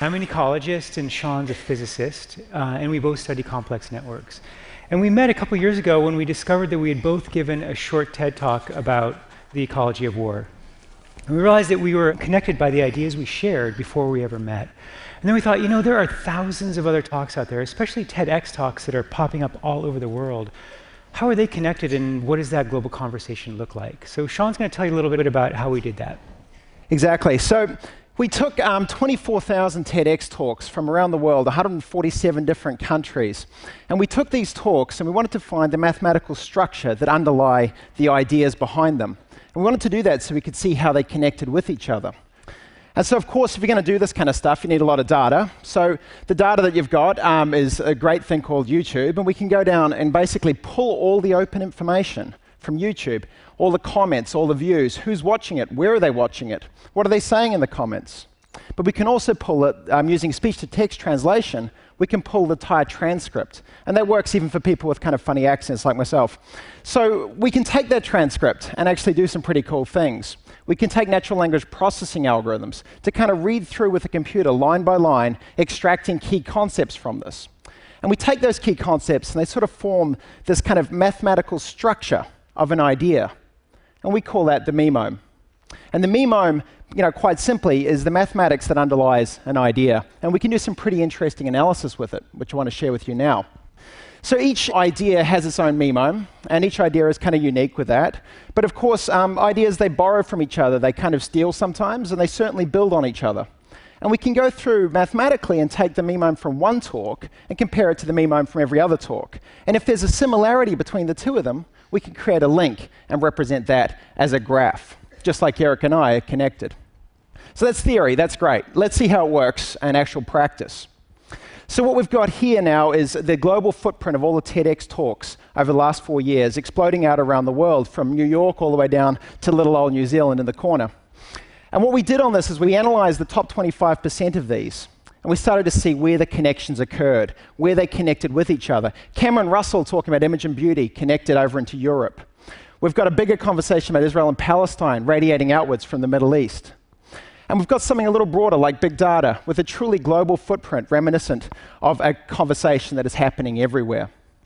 I'm an ecologist and Sean's a physicist, and we both study complex networks. And we met a couple years ago when we discovered that we had both given a short TED talk about the ecology of war. And we realized that we were connected by the ideas we shared before we ever met. And then we thought, there are thousands of other talks out there, especially TEDx talks that are popping up all over the world. How are they connected, and what does that global conversation look like? So Sean's going to tell you a little bit about how we did that. Exactly. So we took 24,000 TEDx talks from around the world, 147 different countries. And we took these talks and we wanted to find the mathematical structure that underlie the ideas behind them. And we wanted to do that so we could see how they connected with each other. And so, of course, if you're going to do this kind of stuff, you need a lot of data. So the data that you've got is a great thing called YouTube. And we can go down and basically pull all the open information from YouTube, all the comments, all the views, who's watching it, where are they watching it, what are they saying in the comments. But we can also pull it, using speech-to-text translation, we can pull the entire transcript. And that works even for people with kind of funny accents like myself. So we can take that transcript and actually do some pretty cool things. We can take natural language processing algorithms to kind of read through with the computer line by line, extracting key concepts from this. And we take those key concepts and they sort of form this kind of mathematical structure of an idea. And we call that the memome. And the memome, quite simply, is the mathematics that underlies an idea. And we can do some pretty interesting analysis with it, which I want to share with you now. So each idea has its own memome, and each idea is kind of unique with that. But of course, ideas, they borrow from each other. They kind of steal sometimes, and they certainly build on each other. And we can go through mathematically and take the memome from one talk and compare it to the memome from every other talk. And if there's a similarity between the two of them, we can create a link and represent that as a graph, just like Eric and I are connected. So that's theory, that's great. Let's see how it works in actual practice. So what we've got here now is the global footprint of all the TEDx talks over the last 4 years, exploding out around the world, from New York all the way down to little old New Zealand in the corner. And what we did on this is we analyzed the top 25% of these, and we started to see where the connections occurred, where they connected with each other. Cameron Russell talking about image and beauty connected over into Europe. We've got a bigger conversation about Israel and Palestine radiating outwards from the Middle East. And we've got something a little broader like big data with a truly global footprint reminiscent of a conversation that is happening everywhere.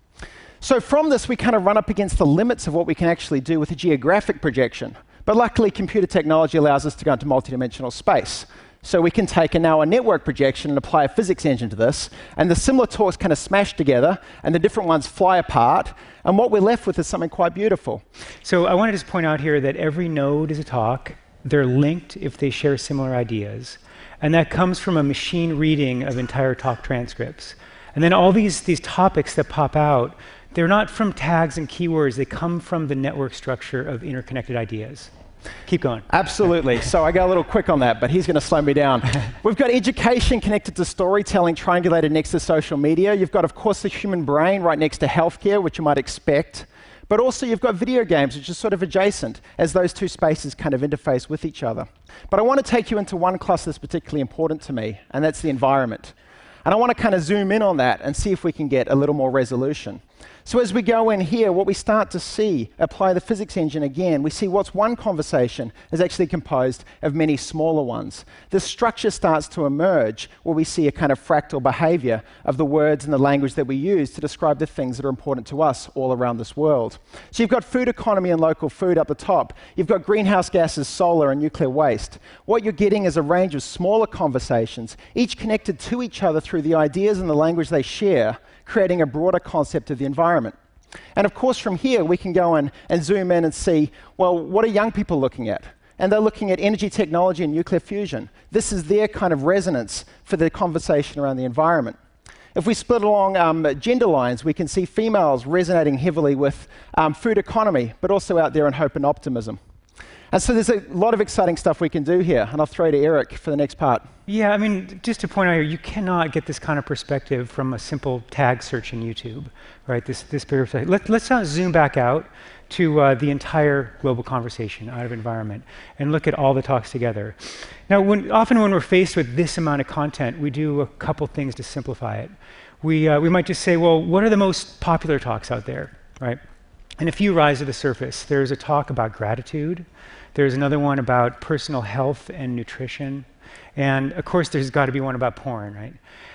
So from this, we kind of run up against the limits of what we can actually do with a geographic projection. But luckily, computer technology allows us to go into multidimensional space. So we can take now a network projection and apply a physics engine to this, and the similar talks kind of smash together, and the different ones fly apart, and what we're left with is something quite beautiful. So I want to just point out here that every node is a talk. They're linked if they share similar ideas. And that comes from a machine reading of entire talk transcripts. And then all these topics that pop out, they're not from tags and keywords. They come from the network structure of interconnected ideas. Keep going. Absolutely. So I got a little quick on that, but he's going to slow me down. We've got education connected to storytelling, triangulated next to social media. You've got, of course, the human brain right next to healthcare, which you might expect. But also you've got video games, which is sort of adjacent as those two spaces kind of interface with each other. But I want to take you into one cluster that's particularly important to me, and that's the environment. And I want to kind of zoom in on that and see if we can get a little more resolution. So as we go in here, what we start to see, apply the physics engine again, we see what's one conversation is actually composed of many smaller ones. The structure starts to emerge where we see a kind of fractal behavior of the words and the language that we use to describe the things that are important to us all around this world. So you've got food economy and local food up the top. You've got greenhouse gases, solar, and nuclear waste. What you're getting is a range of smaller conversations, each connected to each other through the ideas and the language they share, creating a broader concept of the environment. And of course, from here, we can go in and zoom in and see, well, what are young people looking at? And they're looking at energy technology and nuclear fusion. This is their kind of resonance for the conversation around the environment. If we split along gender lines, we can see females resonating heavily with food economy, but also out there in hope and optimism. And so there's a lot of exciting stuff we can do here, and I'll throw to Eric for the next part. Yeah, I mean, just to point out here, you cannot get this kind of perspective from a simple tag search in YouTube, right? This perspective. Let's now zoom back out to the entire global conversation out of environment and look at all the talks together. Now, often when we're faced with this amount of content, we do a couple things to simplify it. We might just say, well, what are the most popular talks out there, right? And a few rise to the surface. There's a talk about gratitude. There's another one about personal health and nutrition. And of course, there's got to be one about porn, right?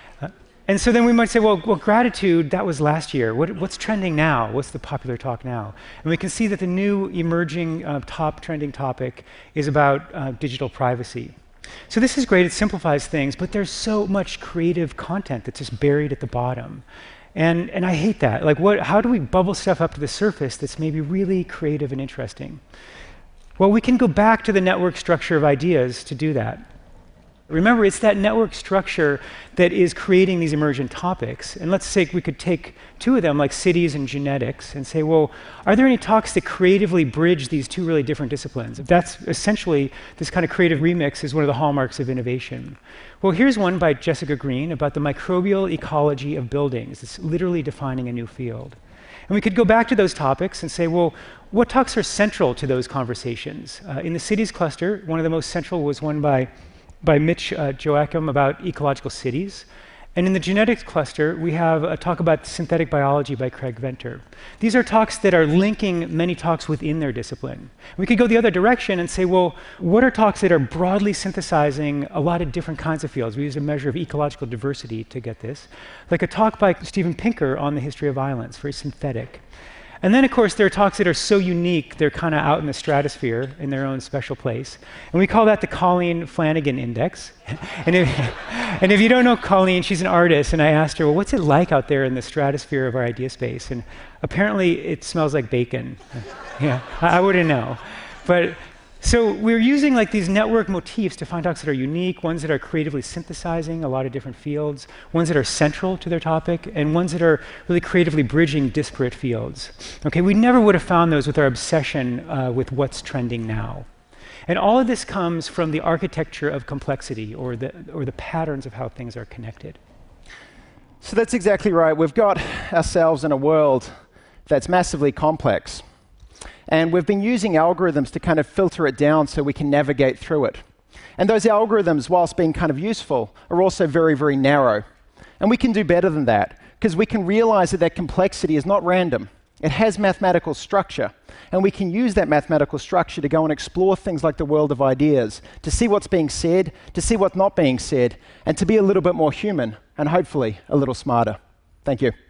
And so then we might say, well, gratitude, that was last year. What's trending now? What's the popular talk now? And we can see that the new emerging top trending topic is about digital privacy. So this is great, it simplifies things, but there's so much creative content that's just buried at the bottom. And I hate that. Like, how do we bubble stuff up to the surface that's maybe really creative and interesting? Well, we can go back to the network structure of ideas to do that. Remember, it's that network structure that is creating these emergent topics. And let's say we could take two of them, like cities and genetics, and say, well, are there any talks that creatively bridge these two really different disciplines? That's essentially, this kind of creative remix is one of the hallmarks of innovation. Well, here's one by Jessica Green about the microbial ecology of buildings. It's literally defining a new field. And we could go back to those topics and say, well, what talks are central to those conversations? In the cities cluster, one of the most central was one by Mitch Joachim about ecological cities. And in the genetics cluster, we have a talk about synthetic biology by Craig Venter. These are talks that are linking many talks within their discipline. We could go the other direction and say, well, what are talks that are broadly synthesizing a lot of different kinds of fields? We use a measure of ecological diversity to get this. Like a talk by Steven Pinker on the history of violence, very synthetic. And then, of course, there are talks that are so unique, they're kind of out in the stratosphere in their own special place. And we call that the Colleen Flanagan Index. and if you don't know Colleen, she's an artist, and I asked her, well, what's it like out there in the stratosphere of our idea space? And apparently, it smells like bacon. Yeah, I wouldn't know. But so we're using like these network motifs to find talks that are unique, ones that are creatively synthesizing a lot of different fields, ones that are central to their topic, and ones that are really creatively bridging disparate fields. Okay, we never would have found those with our obsession with what's trending now. And all of this comes from the architecture of complexity, or the patterns of how things are connected. So that's exactly right. We've got ourselves in a world that's massively complex. And we've been using algorithms to kind of filter it down so we can navigate through it. And those algorithms, whilst being kind of useful, are also very, very narrow. And we can do better than that, because we can realize that complexity is not random. It has mathematical structure. And we can use that mathematical structure to go and explore things like the world of ideas, to see what's being said, to see what's not being said, and to be a little bit more human, and hopefully a little smarter. Thank you.